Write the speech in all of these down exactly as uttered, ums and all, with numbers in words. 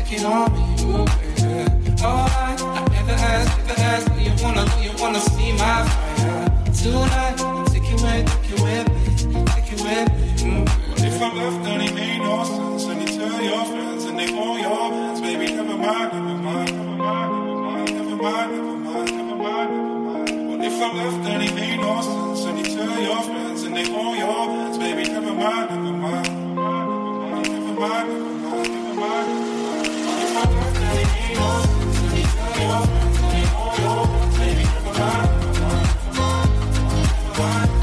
take it on me, ooh, baby. Oh, I, I never asked, never asked, do you wanna, do you wanna see my fire? Tonight, take it with, take it with me, take it with me, ooh, baby. If I'm left, then it made no sense. And you tell your friends, and they want your hands, baby. Never mind, never mind, never mind, never mind, never mind, never mind, never mind. What if I'm left, then it made no sense. And you tell your friends, and they want your hands, baby. Never mind, never mind, never mind, never mind, never mind. What if I'm left, then it made no sense. And you tell your friends, and they want your hands, baby. Never mind, never mind, never mind, never mind.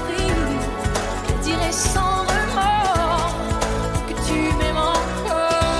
Sans remords, que tu m'aimes encore.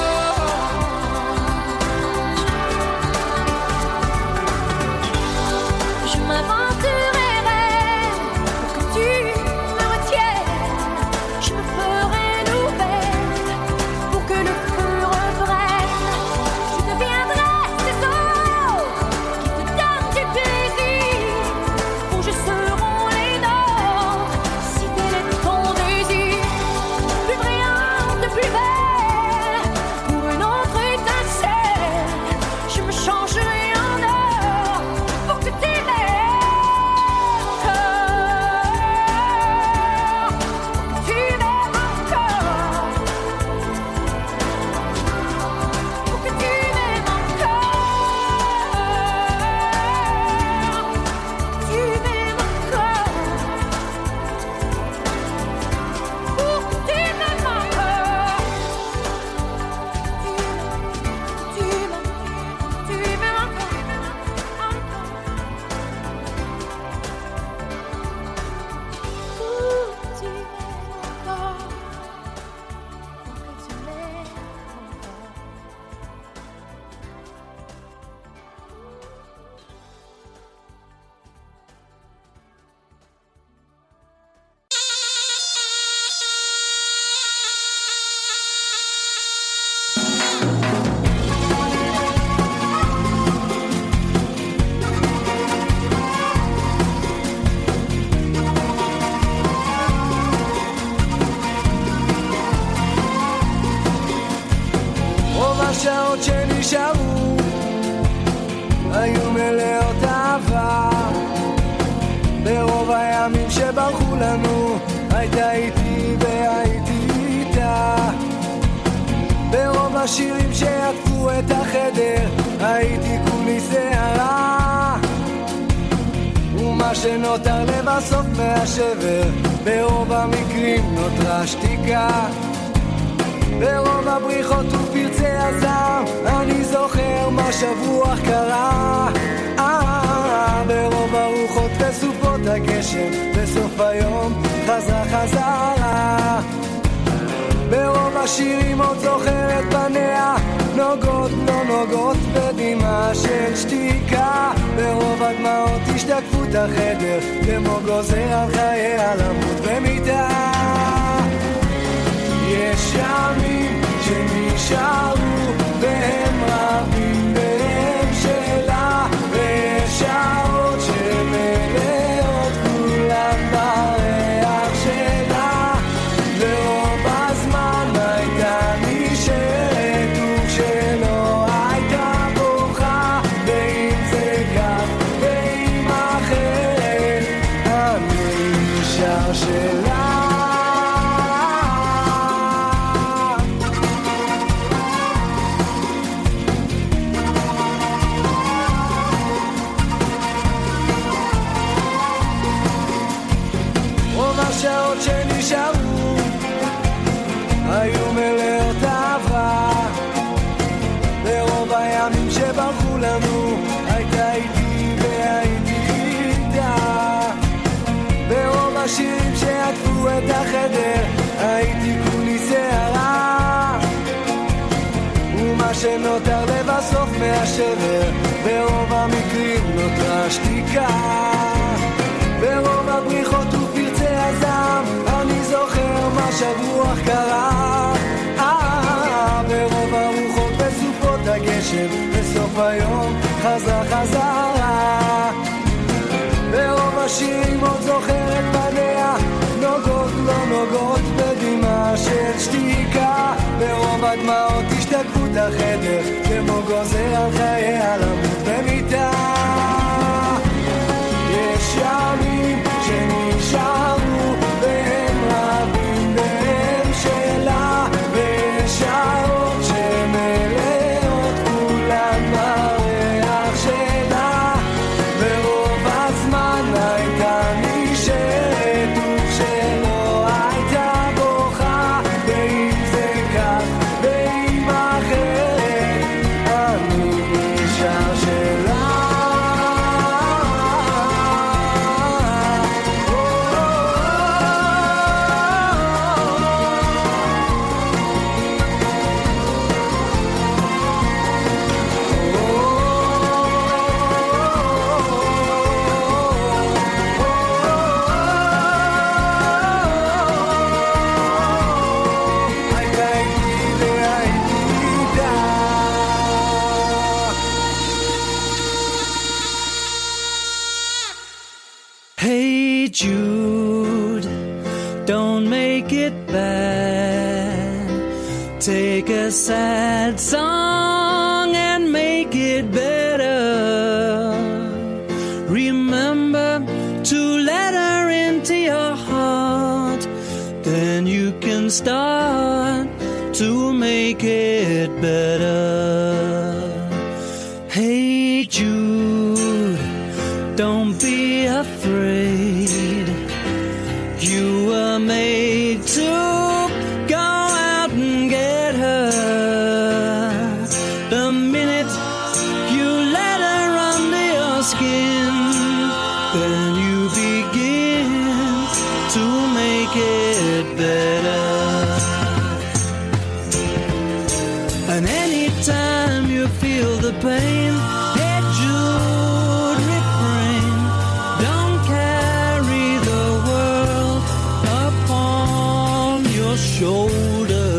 השעות שנשארו היו מלאות אהבה, ברוב הימים שברחו לנו הייתה איתי והייתי איתה, ברוב השירים שעטפו את החדר הייתי כולי שערה, ומה שנותר לבסוף מהשבר ברוב המקרים נותרה שתיקה, ברוב הבריחות ופרצי הזעם אני זוכר מה שבוע קרה, אה, ברוב הרוחות וסופות הגשם בסוף היום חזרה חזרה, ברוב השירים עוד זוכר את פניה נוגות לא נוגות בדמעה של שתיקה, ברוב הדמעות השתקפו את החדר כמו גוזר על חייה למות במיטה, יש ימים שנשארו והם רבים והם שלה, ויש שעות שמלאות כולם בריח שלה, ברוב הזמן הייתה נשארת וכשלא הייתה בוכה, ואם זה כך ואם אחרת אני נשאר שלה. השעות שנשארו היו מלאות אהבה, ברוב הימים שברחו לנו הייתה איתי והייתי איתה, ברוב השירים שעטפו את החדר הייתי כולי שערה, ומה שנותר לבסוף מהשבר ברוב המקרים נותרה שתיקה, ברוב הבריחות ופרצי הזעם אני זוכר מה שבוע קרה, אה, ברוב הרוחות וסופות הגשם בסוף היום חזרה חזרה, ברוב השירים עוד זוכר את פניה נוגות לא נוגות בדמעה של שתיקה, ברוב הדמעות השתקפו את החדר כמו גוזר על חייה למות במיטה, יש ימים שנשארו והם רבים והם שלה, ויש שעות שמלאות כולן בריח שלה, ברוב הזמן הייתה נשארת וכשלא הייתה בוכה, ואם זה כך ואם אחרת אני נשאר שלה. Hey Jude, don't make it bad. Take a sad song and make it better. Remember to let her into your heart, then you can start to make it better. Hey Jude, don't be afraid. You were made to go out and get her. The minute you let her under your skin, then you begin to make it better. And anytime you feel the pain, hey Jude, refrain. Don't carry the world upon your shoulder.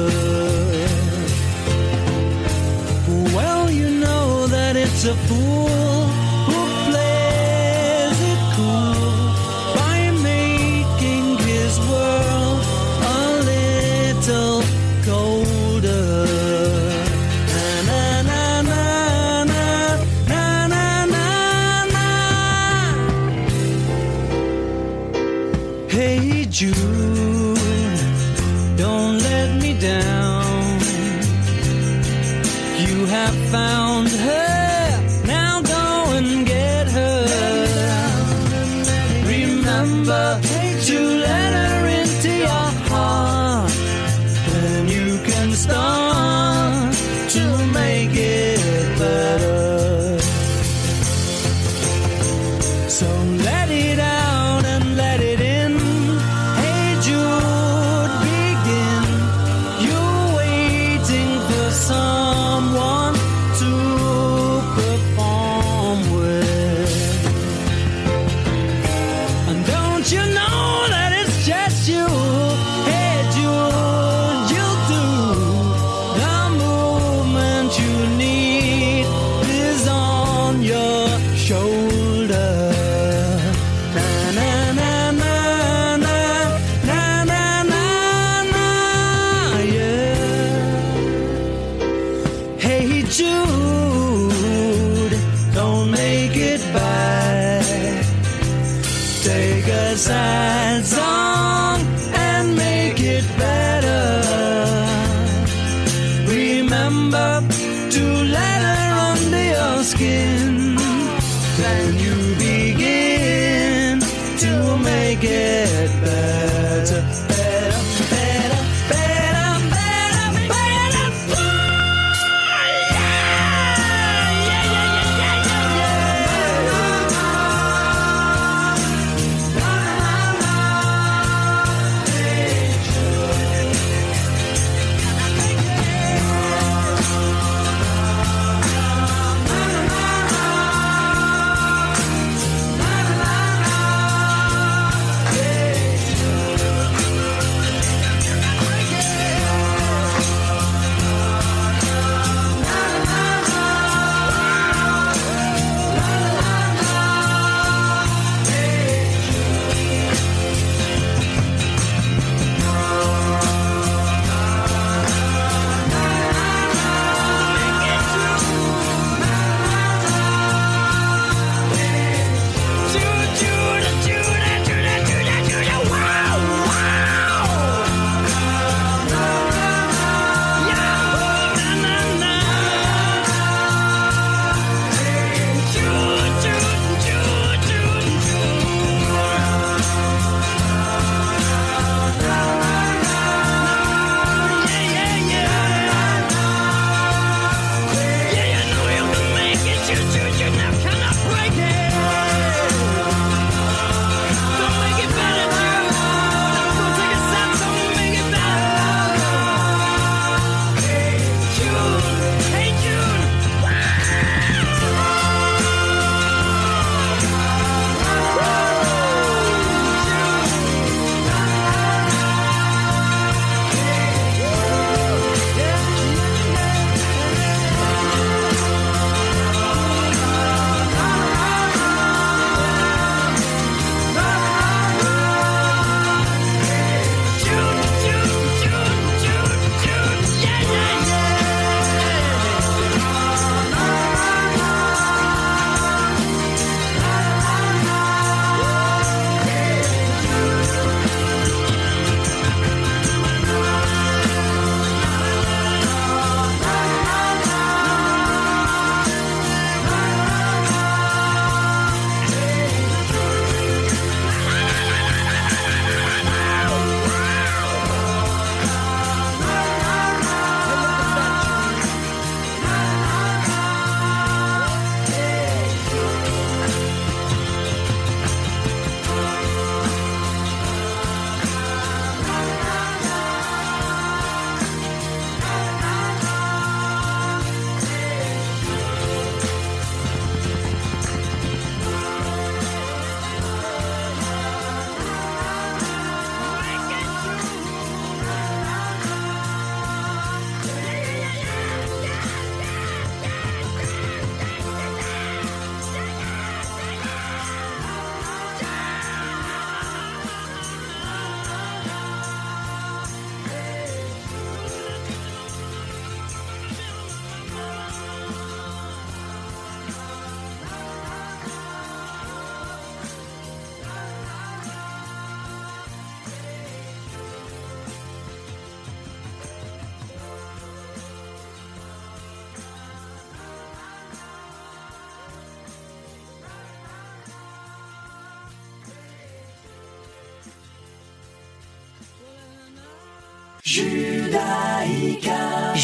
Well, you know that it's a fool who plays it cool by making his world a little colder. And you have found her, now go and get her. Remember to let her into your heart, then you can start to make it better. So let it out and let it in. Hey Jude, begin. You're waiting for someone to perform with. And don't you know that it's just you? Hey Jude, you'll do the movement you need is on your shoulder. Na na na na na na na na na, yeah. Hey Jude, don't make it bad. Take a sad song and make it better. Remember to let her under your skin, then you begin to make it better, better, better, better, better, better. Yeah, yeah, yeah, yeah, yeah,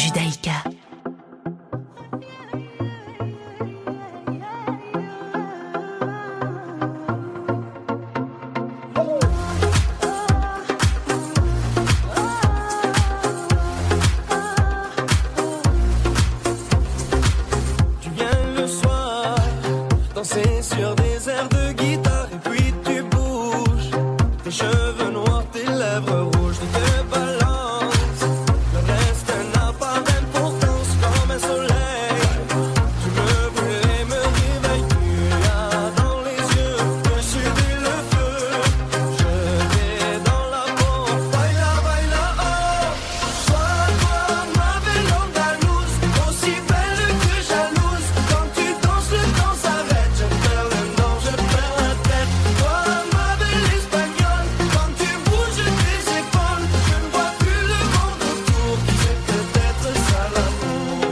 Judaïka. Tu viens le soir, danser sur des airs de guitare et puis tu bouges. Tes cheveux noirs, tes lèvres rouges, tu te balances. Le reste n'a pas d'importance comme un soleil. Tu me brûles et me réveilles, tu as dans les yeux que je suis le feu. Je vais dans la peau, baila, baila, oh. Toi, toi, ma belle andalouse, aussi belle que jalouse. Quand tu danses, le temps s'arrête. Je perds le nord, je perds la tête. Toi, ma belle espagnole, quand tu bouges tes épaules, je ne vois plus le monde autour. C'est peut-être ça l'amour.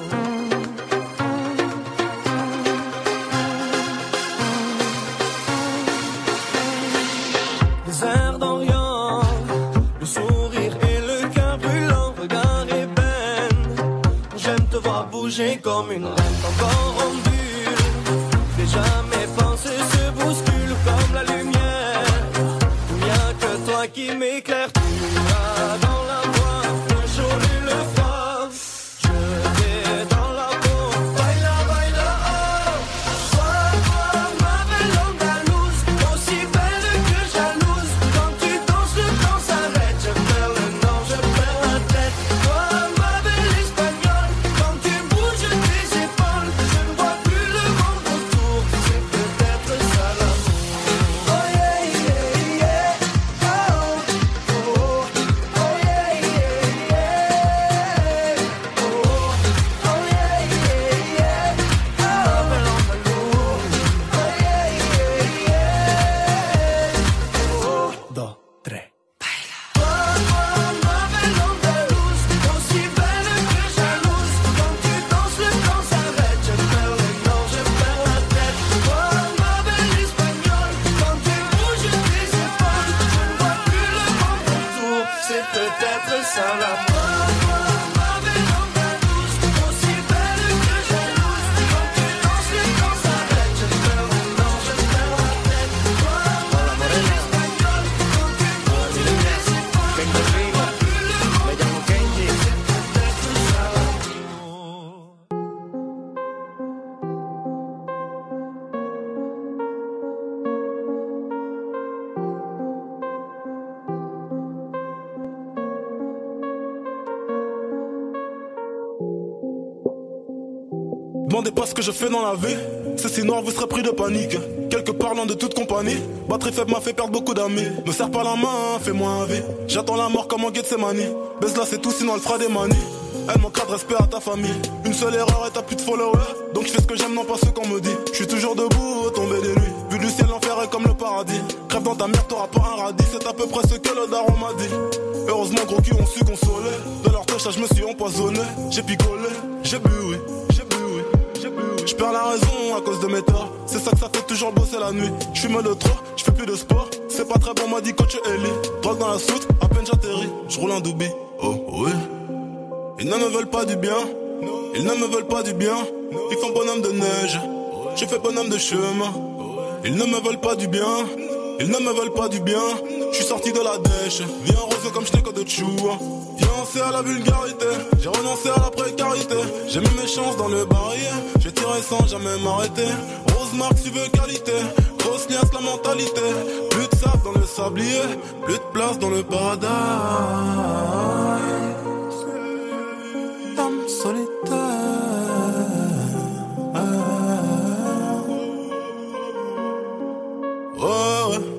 Les airs d'Orient, le sourire et le cœur brûlant, regard ébène. J'aime te voir bouger comme une reine, ton corps en bulle. J'ai jamais pensé se bouscule comme la lumière. Il n'y a que toi qui m'éclaire, tu as dans la voix le jour et le froid. Je vais dans la peau, baila, baila, oh. Toi, toi, ma belle andalouse, aussi belle que jalouse. Quand tu danses, le temps s'arrête. Je perds le nord, je perds la tête. Toi, ma belle espagnole, quand tu bouges tes épaules, je ne vois plus le monde autour. C'est peut-être ça l'amour. Oh yeah, yeah, yeah. Oh, oh, oh yeah, yeah, yeah. Oh, oh yeah, yeah, yeah. Ma belle andalouse. Oh yeah, yeah, yeah. Oh, dos, tres. Toi, toi, ma belle andalouse, aussi belle que jalouse. Quand tu danses, le temps s'arrête. Je perds le nord, je perds la tête. Toi, ma belle espagnole, quand tu bouges tes épaules, je ne vois plus le monde autour. C'est peut-être ça l'amour. Toi, ma belle andalouse, aussi belle que jalouse. Quand tu danses, le temps s'arrête. Je perds le nord, je perds la tête. Toi, ma belle espagnole, quand tu bouges tes épaules, je ne vois plus le monde autour. C'est peut-être ça l'amour. Demandez pas ce que je fais dans la vie. C'est si noir, vous serez pris de panique. Quelque part loin de toute compagnie. Batterie faible m'a fait perdre beaucoup d'amis. Me serre pas la main, fais-moi un vie. J'attends la mort comme en Gethsemane. Baise là, c'est tout, sinon elle fera des manies. Elle manquera de respect à ta famille. Une seule erreur et t'as plus de followers. Donc je fais ce que j'aime, non pas ce qu'on me dit. Je suis toujours debout, au tomber des nuits. Vu du ciel, l'enfer est comme le paradis. Crève dans ta mère, t'auras pas un radis. C'est à peu près ce que le daron m'a dit. Heureusement, gros cul, on su consoler. De leur touche, je me suis empoisonné. J'ai picolé, j'ai bu, oui. J'ai bu, oui. J'ai bu, oui. Je perds la raison à cause de mes torts. C'est ça que ça fait toujours bosser la nuit. Je fume de trop, je fais plus de sport. C'est pas très bon, m'a dit coach Ellie. Drogue dans la soute, à peine j'atterris. Je roule un doobie. Oh, oui. Ils ne me veulent pas du bien. Ils ne me veulent pas du bien. Ils font bonhomme de neige. Je fais bonhomme de chemin. Ils ne me veulent pas du bien. Ils ne me veulent pas du bien. Je suis sorti de la dèche. Viens rose comme je n'ai que de chou. Fiancé à la vulgarité. J'ai renoncé à la précarité. J'ai mis mes chances dans le barillet. J'ai tiré sans jamais m'arrêter. Rose marque, tu veux qualité. Grosse liasse, la mentalité. Plus de sable dans le sablier. Plus de place dans le paradis. Dame solitaire. Oh, ouais.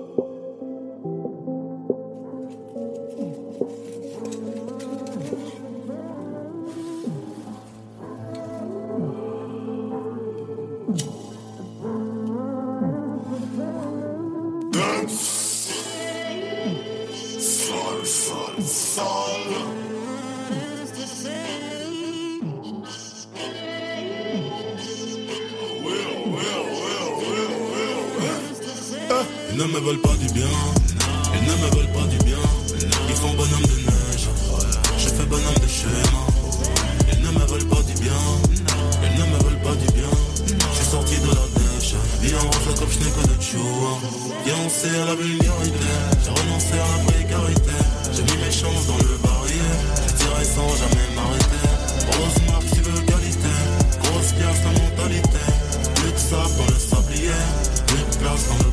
Sol, sol, sol. Ils ne me veulent pas du bien. Ils ne me veulent pas du bien. Ils font bonhomme de neige. Je fais bonhomme de chemin. renoncé à la vulgarité, j'ai renoncé à la précarité. J'ai mis mes chances dans le barillet, j'ai tiré sans jamais m'arrêter. Grosse marque, tu veux qualité, grosse pièce, la mentalité. Plus de sable dans le sablier, plus de place dans le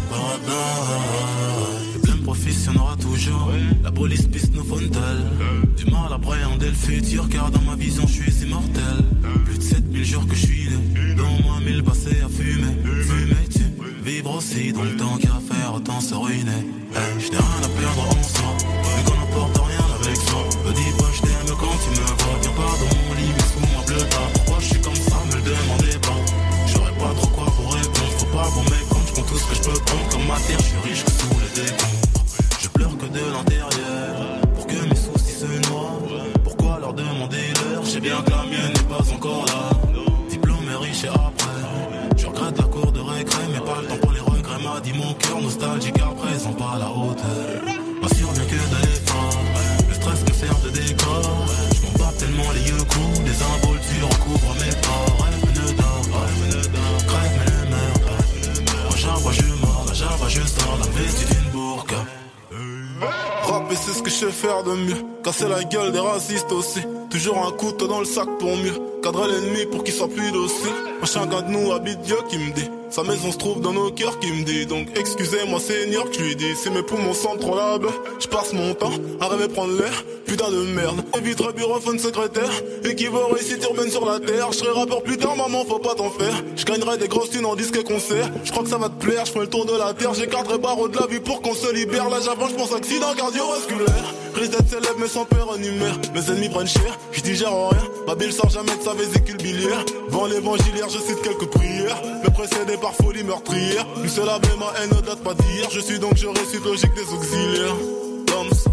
paradis. Les pleins profits, y'en aura toujours, la police piste nos fontaines. Du mal à appréhender le futur, car dans ma vision je suis immortel. Plus de sept mille jours que je suis né, dans moi mille passés à fumer. Fumer, tu vivre aussi dans le temps qu'à faire, autant se ruiner. Hey, je n'ai rien à perdre en soi, vu qu'on n'apporte rien avec soi. Me dis pas je t'aime quand tu me vois, viens pas dans mon lit mais sous ma bleu tard. Pourquoi je suis comme ça, me le demandez pas. J'aurais pas trop quoi pour répondre, faut pas pour mes comptes. Je prends tout ce que je peux prendre comme matière, je suis riche que tous les décombres. Je pleure que de l'intérieur, pour que mes soucis se noient. Pourquoi leur demander l'heure, je sais bien que la mienne n'est pas encore là. Diplômé riche et après, je regrette la cour de récré, mais pas le temps pour les regrets. M'a dit mon cœur nostalgique à présent, pas à la hauteur. M'assure bien que d'aller fort, le stress me sert de décor. Je m'en bats tellement les yeux courts, des involtures recouvrent mes corps. Rêve me ne dort pas, crève mais ne meurt pas. À chaque fois je mords, à chaque fois je sors la vêtue d'une bourque. Rapper c'est ce que je sais faire de mieux, casser la gueule des racistes aussi. Toujours un couteau dans le sac pour mieux cadrer l'ennemi pour qu'il soit plus docile. Un chacun de nous habite Dieu qui me dit, sa maison se trouve dans nos cœurs qui me dit. Donc excusez-moi Seigneur que je lui dis, si mes poumons sentent trop la baie, je passe mon temps à rêver prendre l'air. Putain de merde, éviterai bureauphone secrétaire, équivaut réussite urbaine sur la terre. Je serai rappeur plus tard maman, faut pas t'en faire. Je gagnerai des grosses thunes en disque et concert. Je crois que ça va te plaire, je fais le tour de la terre. J'écarterai barreau de la vie pour qu'on se libère. Là j'avance, je pense accident cardiovasculaire. Risque d'être célèbre mais sans père numère. Mes ennemis prennent cher, je digère rien. Ma bille sort jamais de sa vésicule biliaire. Vent l'évangiliaire, je cite quelques prières, mais précédé par folie meurtrière. Une seule ave ma haine ne date pas d'hier. Je suis donc je récite logique des auxiliaires. Comme ça.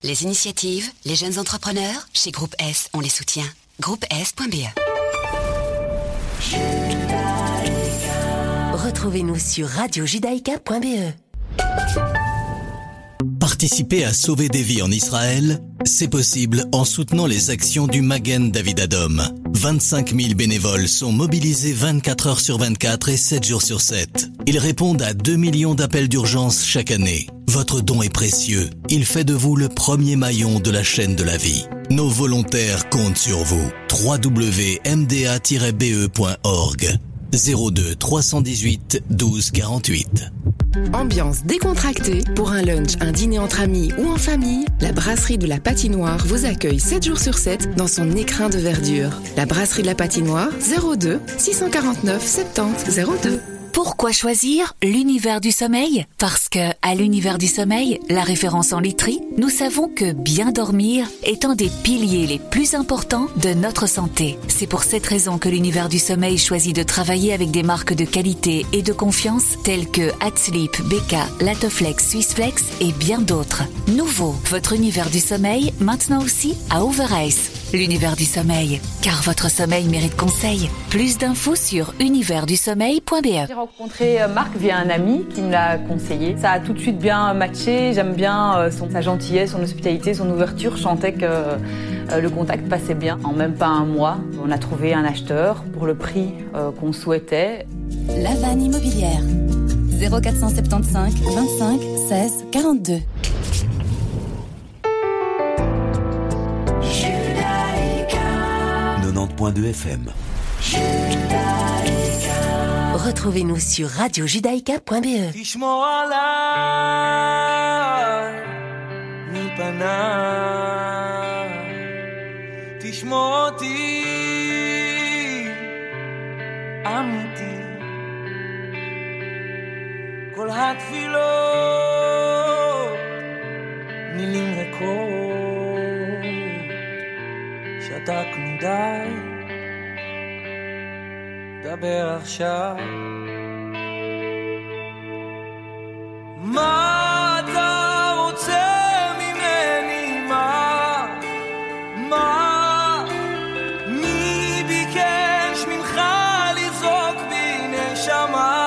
Les initiatives, les jeunes entrepreneurs, chez Groupe S, on les soutient. groupe S point b e. Retrouvez-nous sur radio judaïka point b e. Participer à sauver des vies en Israël, c'est possible en soutenant les actions du Magen David Adom. vingt-cinq mille bénévoles sont mobilisés vingt-quatre heures sur vingt-quatre et sept jours sur sept. Ils répondent à deux millions d'appels d'urgence chaque année. Votre don est précieux. Il fait de vous le premier maillon de la chaîne de la vie. Nos volontaires comptent sur vous. w w w point m d a tiret b e point org zéro deux trois cent dix-huit douze quarante-huit. Ambiance décontractée pour un lunch, un dîner entre amis ou en famille, la brasserie de la Patinoire vous accueille sept jours sur sept dans son écrin de verdure. La brasserie de la Patinoire, zéro deux six cent quarante-neuf soixante-dix zéro deux. Pourquoi choisir l'univers du sommeil ? Parce que, à l'univers du sommeil, la référence en literie, nous savons que bien dormir est un des piliers les plus importants de notre santé. C'est pour cette raison que l'univers du sommeil choisit de travailler avec des marques de qualité et de confiance telles que Hatsleep, Beka, Latoflex, Swissflex et bien d'autres. Nouveau, votre univers du sommeil, maintenant aussi à Overice. L'univers du sommeil, car votre sommeil mérite conseil. Plus d'infos sur univers du sommeil point b e. J'ai rencontré Marc via un ami qui me l'a conseillé. Ça a tout de suite bien matché. J'aime bien son, sa gentillesse, son hospitalité, son ouverture. Je sentais que euh, le contact passait bien. En même pas un mois, on a trouvé un acheteur pour le prix euh, qu'on souhaitait. La Vanne Immobilière. zéro quatre cent soixante-quinze vingt-cinq seize quarante-deux. quatre-vingt-dix point deux F M. Retrouvez-nous sur radio judaïka point b e. תשמור עליי מפניי, תשמור אותי אמיתי, כל התפילות מילים ריקות, שתקנו די, דבר עכשיו. מה אתה רוצה ממני? מה? מה? מי ביקש ממך לזרוק בי נשמה?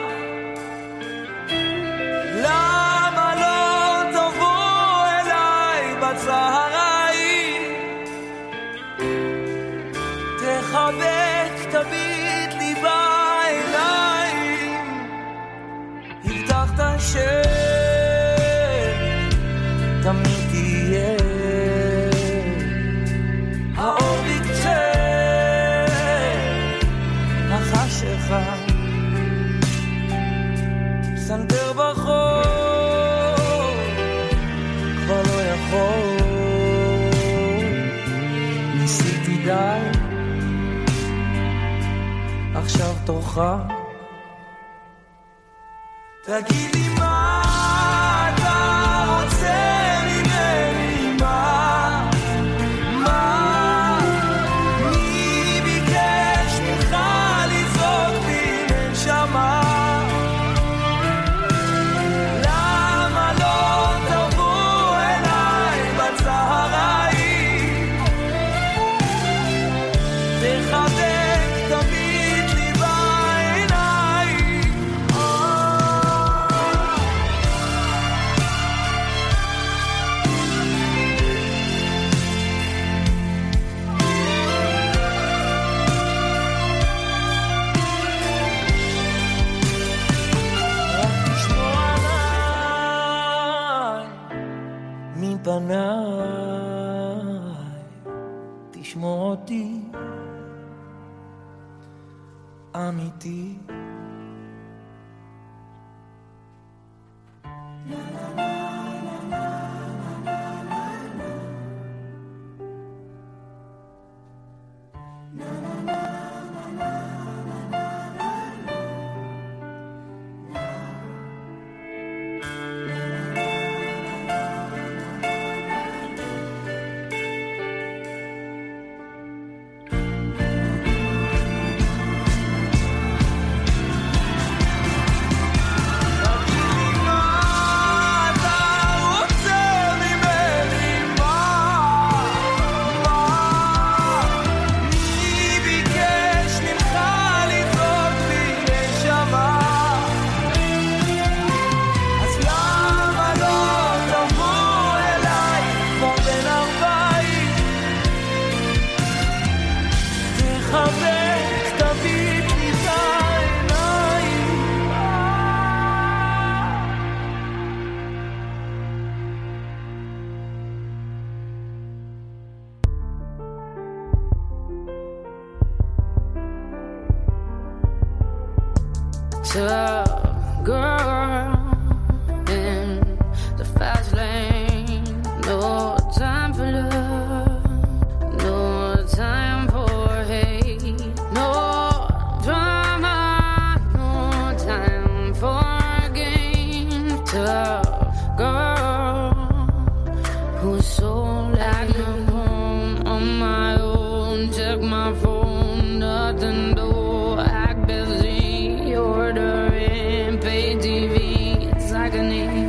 למה לא תבוא אליי בצהריים? תחבק, תביט לי בעיניים, הבטחת שתמיד תהיה האור בקצה החשיכה, סנטר בחור כבר לא יכול, ניסיתי די, עכשיו תורך. תגיד לי מה אתה רוצה ממני, מה? מה? מי ביקש ממך לזרוק בי נשמה? למה לא תבוא אליי בצהריים? תחבק, תביט לי בעיניים. מפניי, תשמור אותי אמיתי. Tough girl in the fast lane. No time for love, no time for hate, no drama, no time for games. Tough girl who's so like no home on my own. Check my phone, nothing though. Act busy, ordering, pay T V. It's agony.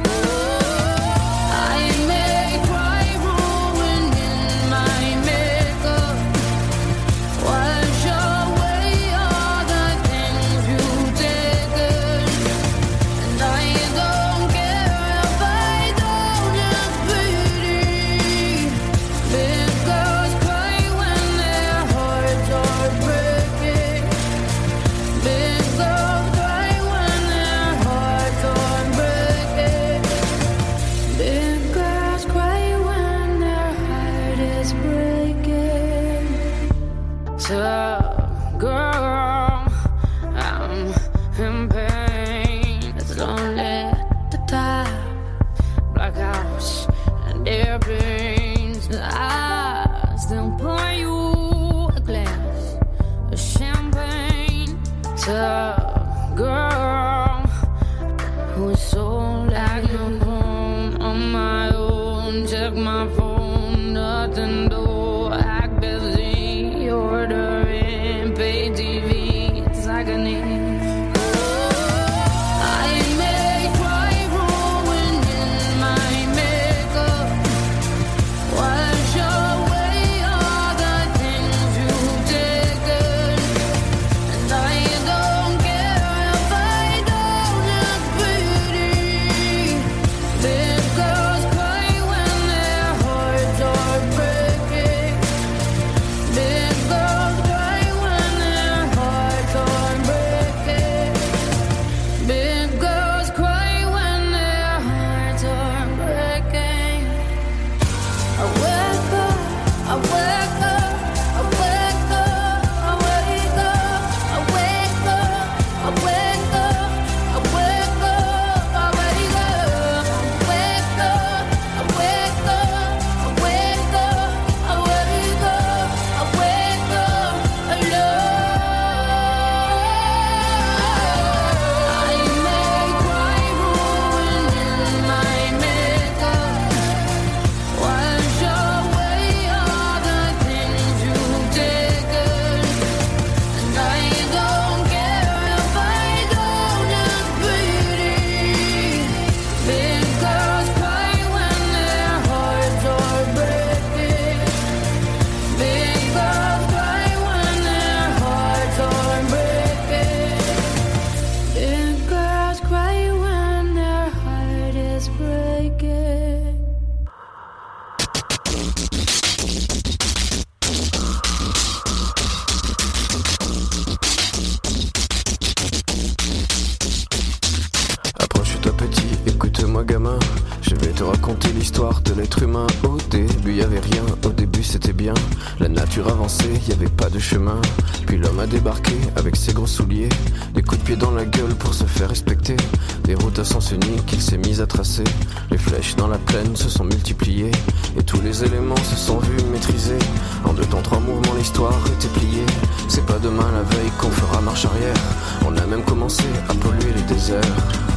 Y avait pas de chemin, puis l'homme a débarqué avec ses gros souliers, des coups de pied dans la gueule pour se faire respecter, des routes à sens unique qu'il s'est mis à tracer, les flèches dans la plaine se sont multipliées, et tous les éléments se sont vus maîtrisés, en deux temps trois mouvements l'histoire était pliée, c'est pas demain la veille qu'on fera marche arrière, on a même commencé à polluer les déserts,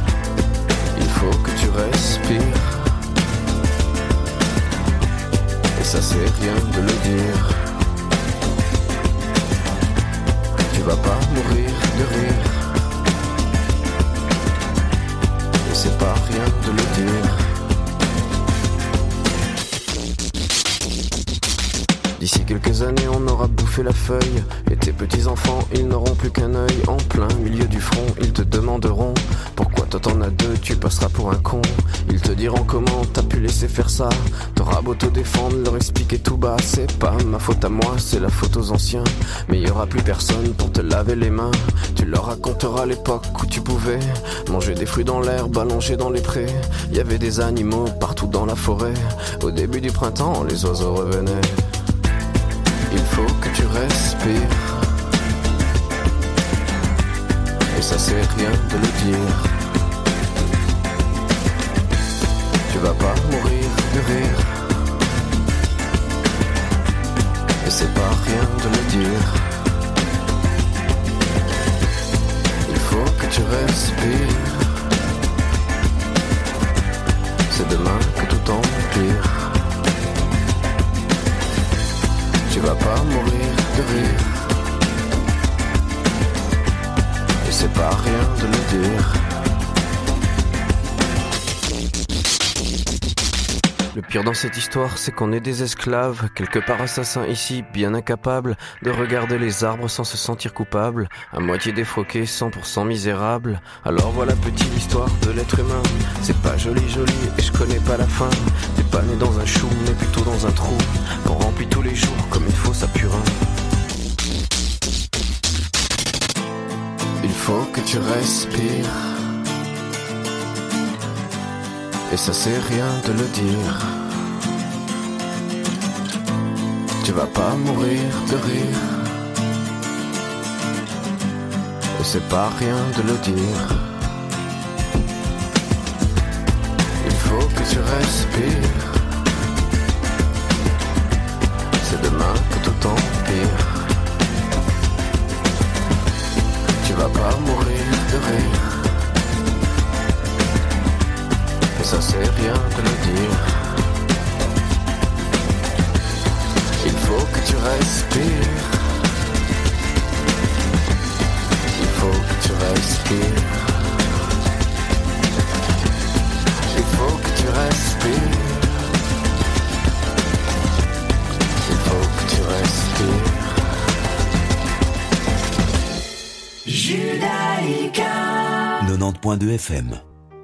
il faut que tu respires, et ça c'est rien de le dire. Tu vas pas mourir de rire, et c'est pas rien de le dire. D'ici quelques années on aura bouffé la feuille, et tes petits enfants ils n'auront plus qu'un œil. En plein milieu du front ils te demanderont pourquoi toi t'en as deux, tu passeras pour un con. Ils te diront comment t'as pu laisser faire ça, t'auras beau te défendre, leur expliquer tout bas. C'est pas ma faute à moi, c'est la faute aux anciens, mais y aura plus personne pour te laver les mains. Tu leur raconteras l'époque où tu pouvais manger des fruits dans l'herbe, allongés dans les prés. Y avait des animaux partout dans la forêt, au début du printemps les oiseaux revenaient. Il faut que tu respires, et ça c'est rien de le dire. Tu vas pas mourir de rire, et c'est pas rien de le dire. Il faut que tu respires, c'est demain que tout empire. Tu vas pas mourir de rire, et c'est pas rien de le dire. Le pire dans cette histoire, c'est qu'on est des esclaves, quelque part assassins ici, bien incapables de regarder les arbres sans se sentir coupables, à moitié défroqués, cent pour cent misérables. Alors voilà petite histoire de l'être humain, c'est pas joli joli et je connais pas la fin. T'es pas né dans un chou, mais plutôt dans un trou, qu'on remplit tous les jours comme une fosse à purin. Il faut que tu respires, et ça c'est rien de le dire. Tu vas pas mourir de rire, et c'est pas rien de le dire. Il faut que tu respires, c'est demain que tout empire. Tu vas pas mourir de rire, et ça c'est rien de le dire. Il faut que tu respires, il faut que tu respires, il faut que tu respires, il faut que tu respires. Judaïka quatre-vingt-dix point deux F M.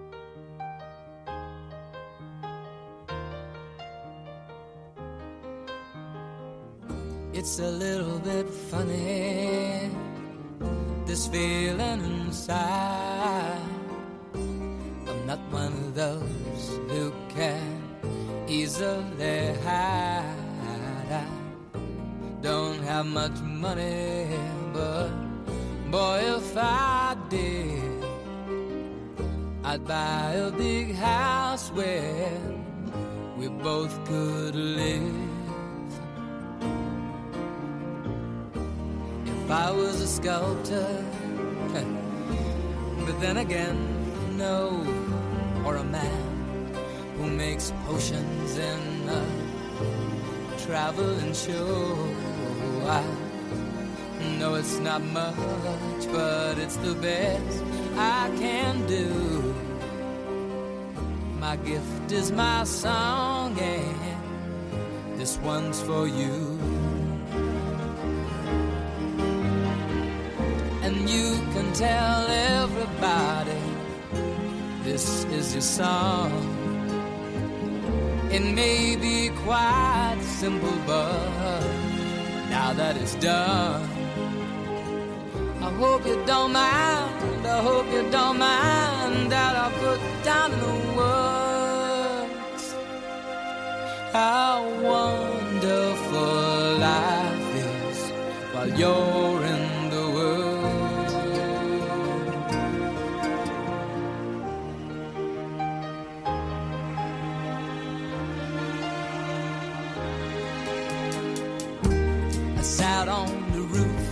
It's a little bit funny, this feeling inside. I'm not one of those who can easily hide. I don't have much money, but boy, if I did, I'd buy a big house where we both could live. If I was a sculptor, but then again, no, or a man who makes potions in a traveling show. I know it's not much, but it's the best I can do. My gift is my song, and this one's for you. And you can tell everybody this is your song. It may be quite simple, but now that it's done, I hope you don't mind, I hope you don't mind that I put down in the words how wonderful life is while you're in the world. I sat on the roof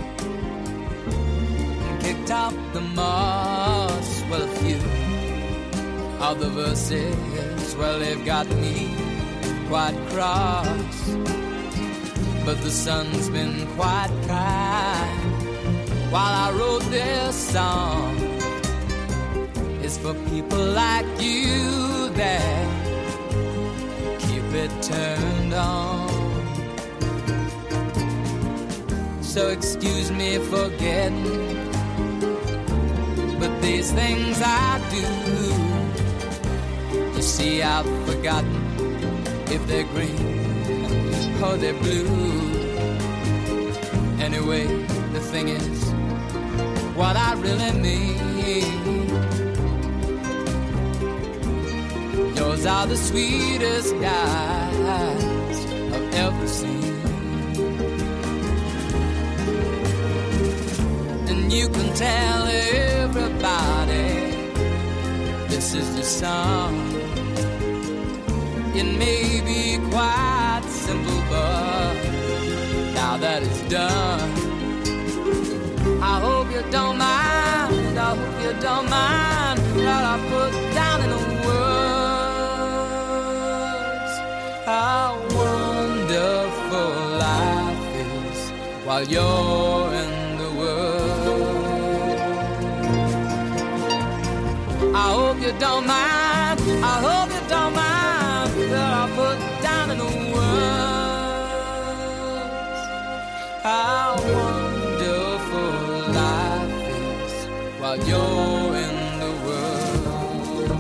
and kicked out the moss. Well, a few of the verses, well, they've got me quite cross. But the sun's been quite kind while I wrote this song. It's for people like you that keep it turned on. So excuse me for getting, but these things I do, you see I've forgotten if they're green or they're blue. Anyway, the thing is, what I really mean, yours are the sweetest eyes I've ever seen. you can tell everybody this is the song. It may be quite simple, but now that it's done, I hope you don't mind, I hope you don't mind what I put down in the words. How wonderful life is while you're in the world. I hope you don't mind, I hope you don't mind what I put down in the words. How wonderful life is while you're in the world.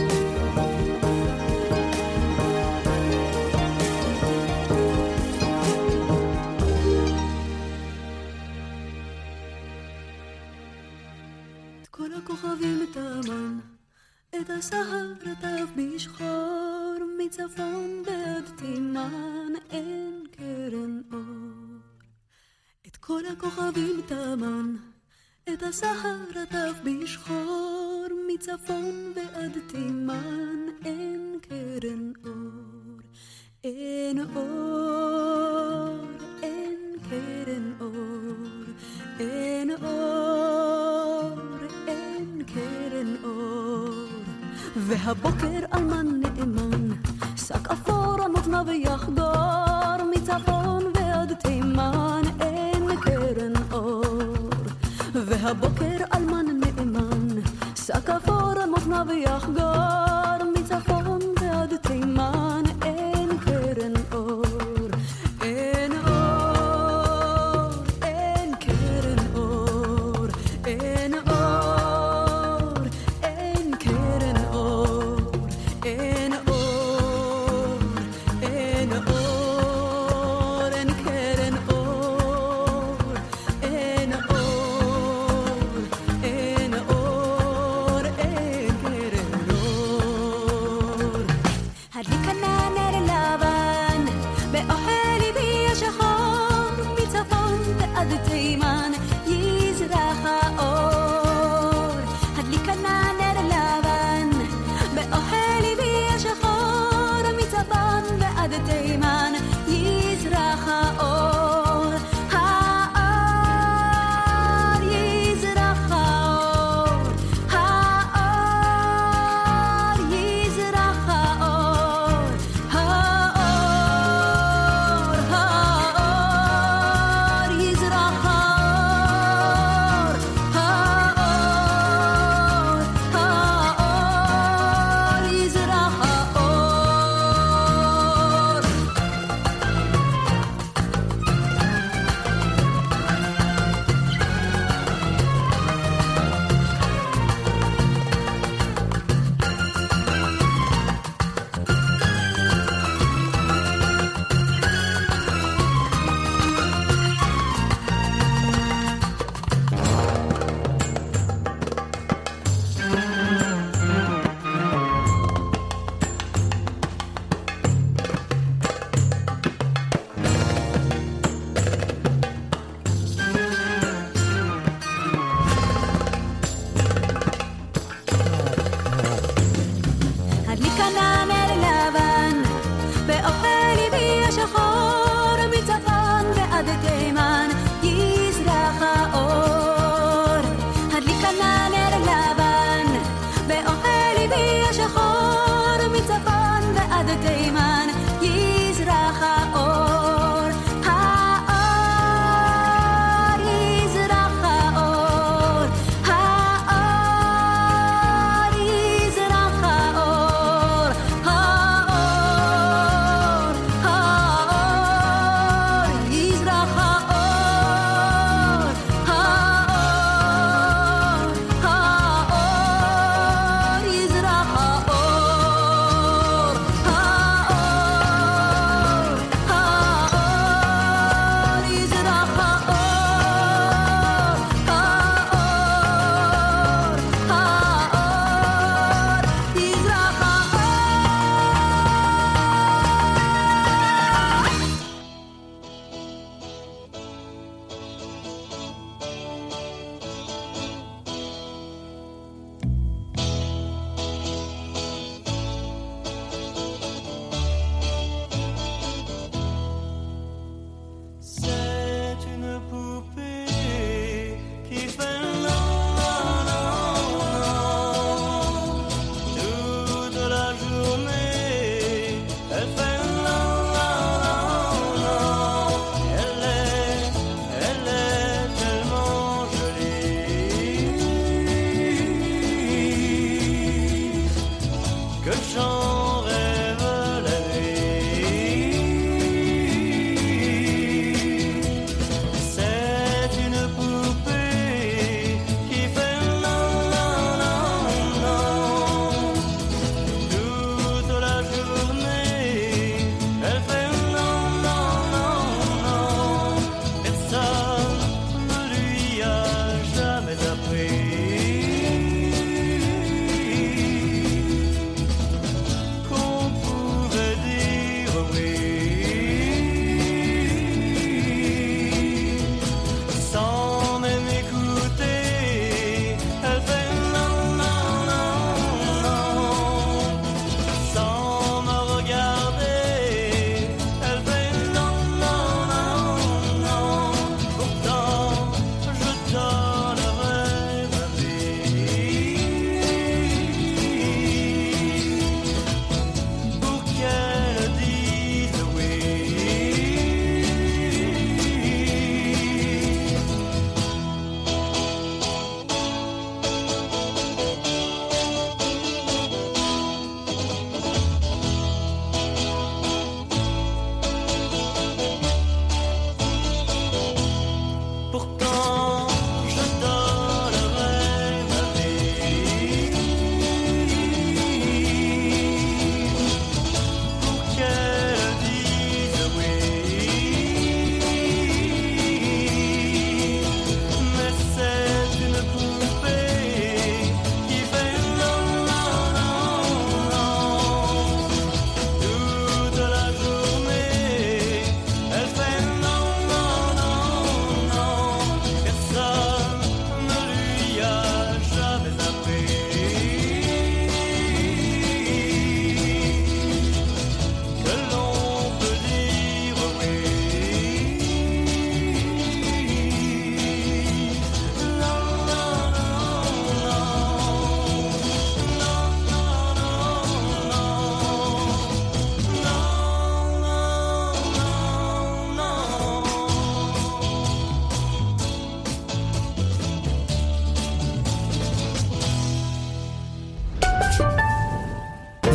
את כל הכוכבים תמן, את הסהר רטף בשחור, מצפון ועד תימן אין קרן אור. את כל הכוכבים תמן, את הסהר רטף בשחור, מצפון ועד תימן אין קרן אור. אין אור, אין קרן אור, אין אור, אין קרן אור. והבוקר אלמן נאמן, שק אפור על מותניו יחדור, מצפון ועד תימן אין קרן אור. והבוקר אלמן נאמן, שק אפור על מותניו יחדור, מצפון ועד תימן אין קרן אור. אין אור, אין קרן אור, אין אור, אין קרן אור, אין אור, אין אור, אין קרן אור, אין אור, אין אור, אין קרן אור.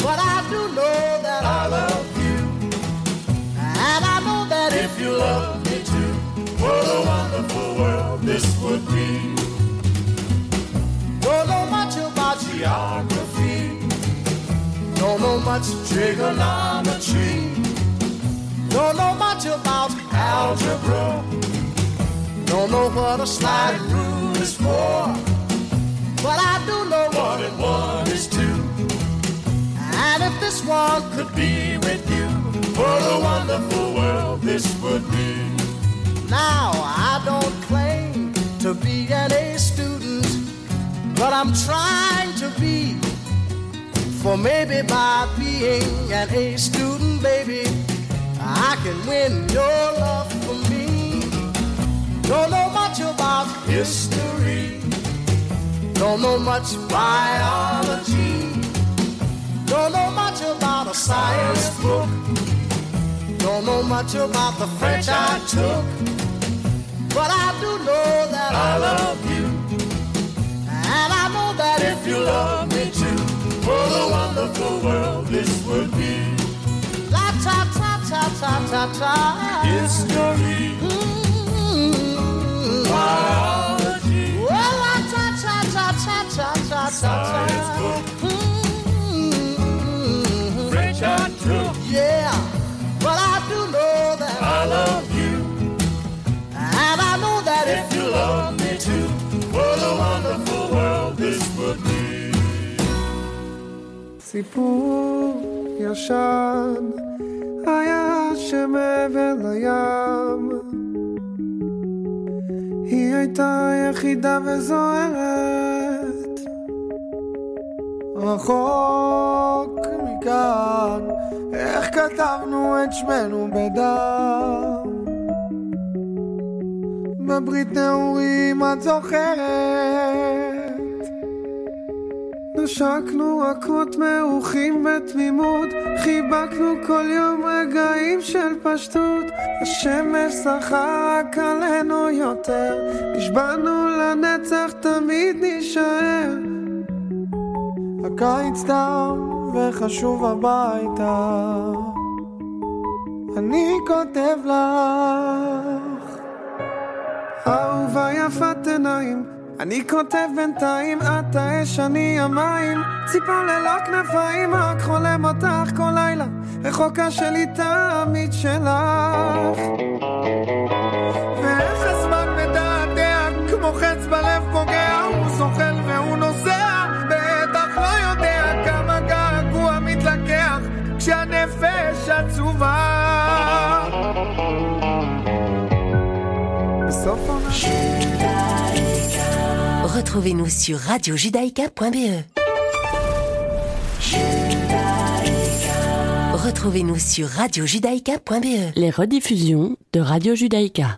But I do know that I love you. And I know that if you love me too, what a wonderful world this would be. Don't know much about geography, don't know much trigonometry, don't know much about algebra, don't know what a slide rule is for. But I do know one and one is two. And if this one could be with you, what a wonderful world this would be. Now I don't claim to be an A student, but I'm trying to be. For maybe by being an A student, baby, I can win your love for me. Don't know much about history, don't know much biology, don't know much about a science book, don't know much about the French I took. But I do know that I love you, and I know that if you love me too, what a wonderful world this would be. La ta ta ta ta ta ta. History, mm-hmm. Biology, well la ta ta ta ta ta ta ta. Science book, mm-hmm. French I took, yeah. But I do know that I love you, and I know that if you love me too, what a wonderful world this would be. סיפור ישן היה שמעבר לים, היא הייתה יחידה וזוהרת, רחוק מכאן, איך כתבנו את שמנו בדם, בברית נעורים את זוכרת, נשקנו עקות מעוכים בתמימות, חיבקנו כל יום רגעים של פשטות, השמש שחה רק עלינו יותר, נשבענו לנצח תמיד נשאר, הקיץ תם וחשוב הביתה, אני כותב לך אהובה יפת עיניים, אני כותב בינתיים, את האש, אני המים, ציפור ללא כנפיים, רק חולם אותך כל לילה, רחוקה שלי תמיד שלך. ואיך הזמן מדעתע, כמו חץ בלב פוגע, הוא זוחל והוא נוסע, בטח לא יודע כמה געגוע מתלקח, כשהנפש עצובה. בסוף עונה Retrouvez-nous sur radio judaïka point b e. Retrouvez-nous sur radio judaïka point b e. Les rediffusions de Radio Judaïka.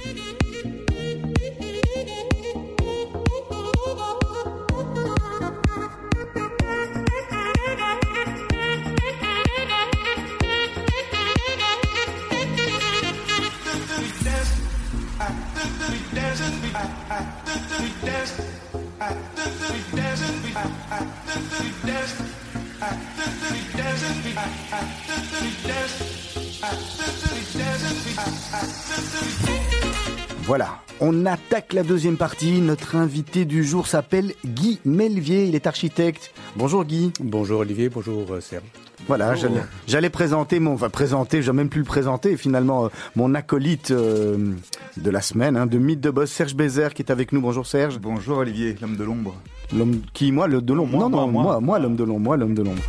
Voilà, on attaque la deuxième partie. Notre invité du jour s'appelle Guy Melvier, il est architecte. Bonjour Guy. Bonjour Olivier, bonjour Serge. Voilà, j'allais, j'allais présenter mon, enfin présenter, j'ai même plus le présenter, finalement, euh, mon acolyte euh, de la semaine, hein, de Mythe de Boss, Serge Bézère, qui est avec nous. Bonjour Serge. Bonjour Olivier, l'homme de l'ombre. L'homme qui, moi, l'homme de l'ombre. Moi, non, moi, non, moi, moi, moi, l'homme de l'ombre, moi, l'homme de l'ombre.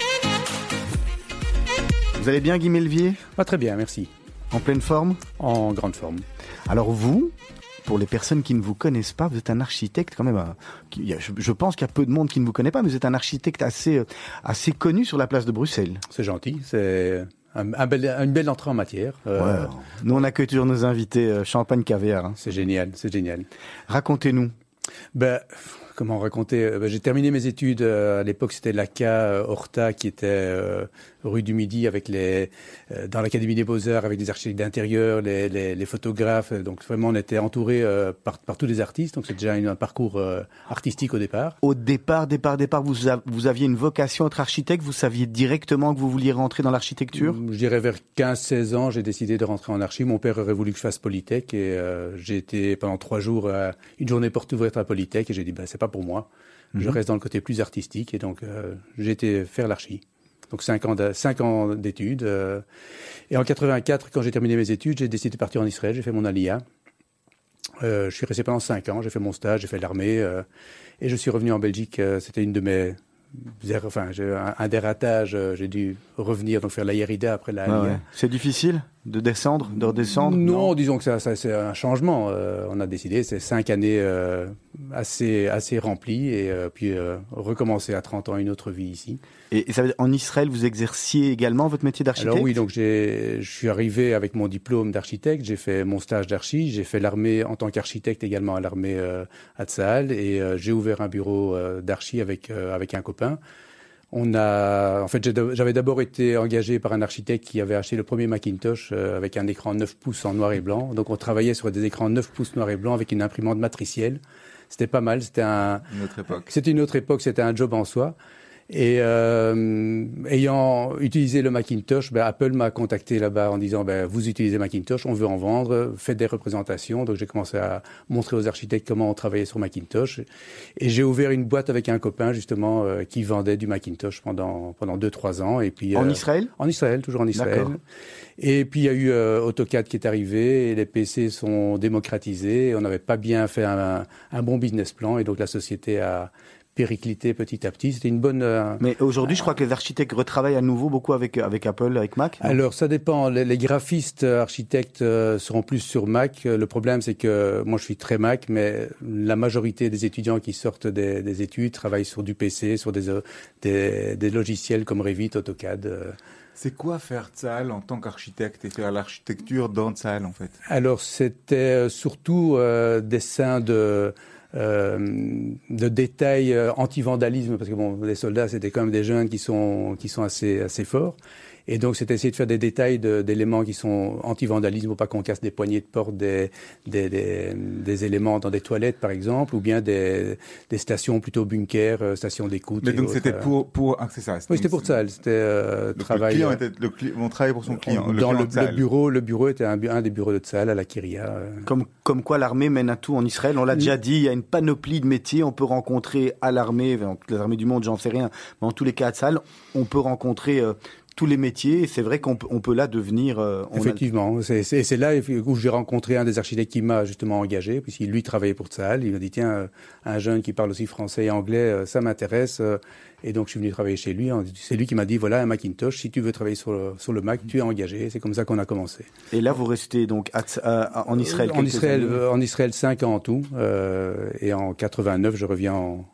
Vous allez bien, Guy Melvier ? Pas très bien, merci. En pleine forme ? En grande forme. Alors vous, pour les personnes qui ne vous connaissent pas, vous êtes un architecte quand même. Qui, je, je pense qu'il y a peu de monde qui ne vous connaît pas, mais vous êtes un architecte assez, assez connu sur la place de Bruxelles. C'est gentil, c'est un, un bel, une belle entrée en matière. Euh... Ouais, nous, on accueille toujours nos invités euh, champagne caviar. Hein. C'est génial, c'est génial. Racontez-nous. Ben, comment raconter euh, ben, j'ai terminé mes études, euh, à l'époque c'était l'A C A euh, Horta qui était euh, rue du Midi avec les, euh, dans l'Académie des Beaux-Arts avec des architectes d'intérieur, les, les, les photographes, donc vraiment on était entouré euh, par, par tous les artistes, donc c'est déjà une, un parcours euh, artistique au départ. Au départ, départ, départ, vous, a, vous aviez une vocation à être architecte, vous saviez directement que vous vouliez rentrer dans l'architecture? Je dirais vers quinze seize ans, j'ai décidé de rentrer en archi. Mon père aurait voulu que je fasse Polytech et euh, j'ai été pendant trois jours à une journée porte ouverte à Polytech et j'ai dit bah, c'est pas pour moi, mm-hmm. je reste dans le côté plus artistique et donc euh, j'ai été faire l'archi. Donc cinq ans, de, cinq ans d'études. Euh, et en quatre-vingt-quatre, quand j'ai terminé mes études, j'ai décidé de partir en Israël, j'ai fait mon Aliyah. Euh, je suis resté pendant cinq ans, j'ai fait mon stage, j'ai fait l'armée euh, et je suis revenu en Belgique. Euh, c'était une de mes... Enfin, j'ai un, un des ratages, euh, j'ai dû revenir, donc faire la Yerida après la Aliyah. Ah ouais. C'est difficile de descendre, de redescendre? Non, non, disons que ça, ça, c'est un changement. Euh, on a décidé, c'est cinq années euh, assez, assez remplies et euh, puis euh, recommencer à trente ans une autre vie ici. Et, et ça veut dire, en Israël, vous exerciez également votre métier d'architecte? Alors oui, donc j'ai, je suis arrivé avec mon diplôme d'architecte, j'ai fait mon stage d'archi, j'ai fait l'armée en tant qu'architecte également à l'armée euh, à Tsahal et euh, j'ai ouvert un bureau euh, d'archi avec, euh, avec un copain. On a, en fait, j'avais d'abord été engagé par un architecte qui avait acheté le premier Macintosh euh, avec un écran neuf pouces en noir et blanc. Donc on travaillait sur des écrans neuf pouces noir et blanc avec une imprimante matricielle. C'était pas mal, c'était un... Une autre époque. C'était une autre époque, c'était un job en soi. Et euh, ayant utilisé le Macintosh, ben, Apple m'a contacté là-bas en disant ben, vous utilisez Macintosh, on veut en vendre, faites des représentations. Donc j'ai commencé à montrer aux architectes comment on travaillait sur Macintosh. Et j'ai ouvert une boîte avec un copain justement euh, qui vendait du Macintosh pendant pendant deux trois ans. Et puis en euh, Israël? En Israël, toujours en Israël. D'accord. Et puis il y a eu euh, AutoCAD qui est arrivé, et les P C sont démocratisés. Et on n'avait pas bien fait un, un bon business plan, et donc la société a périclité petit à petit. C'était une bonne... Euh, Mais aujourd'hui, je crois que les architectes retravaillent à nouveau beaucoup avec, avec Apple, avec Mac. Non? Alors, ça dépend. Les, les graphistes architectes euh, seront plus sur Mac. Le problème, c'est que moi, je suis très Mac, mais la majorité des étudiants qui sortent des, des études travaillent sur du P C, sur des, des, des logiciels comme Revit, AutoCAD. Euh. C'est quoi faire Tsahal en tant qu'architecte et faire l'architecture dans Tsahal, en fait? Alors, c'était surtout euh, dessin de... Euh, de détails euh, anti-vandalisme, parce que bon, les soldats, c'était quand même des jeunes qui sont, qui sont assez, assez forts. Et donc, c'est essayer de faire des détails de, d'éléments qui sont anti-vandalisme, pour pas qu'on casse des poignées de porte, des, des, des, des éléments dans des toilettes, par exemple, ou bien des, des stations plutôt bunkers, euh, stations d'écoute. Mais donc, autres, c'était pour, pour, ah, c'est ça. Oui, c'était pour ça. C'était, euh, le travail. Client était, le client, on travaillait pour son client. Dans le, le, le bureau, le bureau était un, un des bureaux de Tsahal à la Kiria. Euh. Comme, comme quoi l'armée mène à tout en Israël. On l'a déjà dit, il y a une panoplie de métiers. On peut rencontrer à l'armée, dans les armées du monde, j'en sais rien, mais en tous les cas à Tsahal, on peut rencontrer euh, tous les métiers, et c'est vrai qu'on peut, on peut là devenir... Euh, on Effectivement, a... c'est, c'est, c'est là où j'ai rencontré un des architectes qui m'a justement engagé, puisqu'il lui travaillait pour Tsahal. Il m'a dit, tiens, un jeune qui parle aussi français et anglais, ça m'intéresse. Et donc je suis venu travailler chez lui. C'est lui qui m'a dit, voilà un Macintosh, si tu veux travailler sur le, sur le Mac, tu es engagé. C'est comme ça qu'on a commencé. Et là, vous restez donc à, à, en Israël En Israël, euh, en Israël, cinq ans en tout. Euh, et en quatre-vingt-neuf, je reviens en,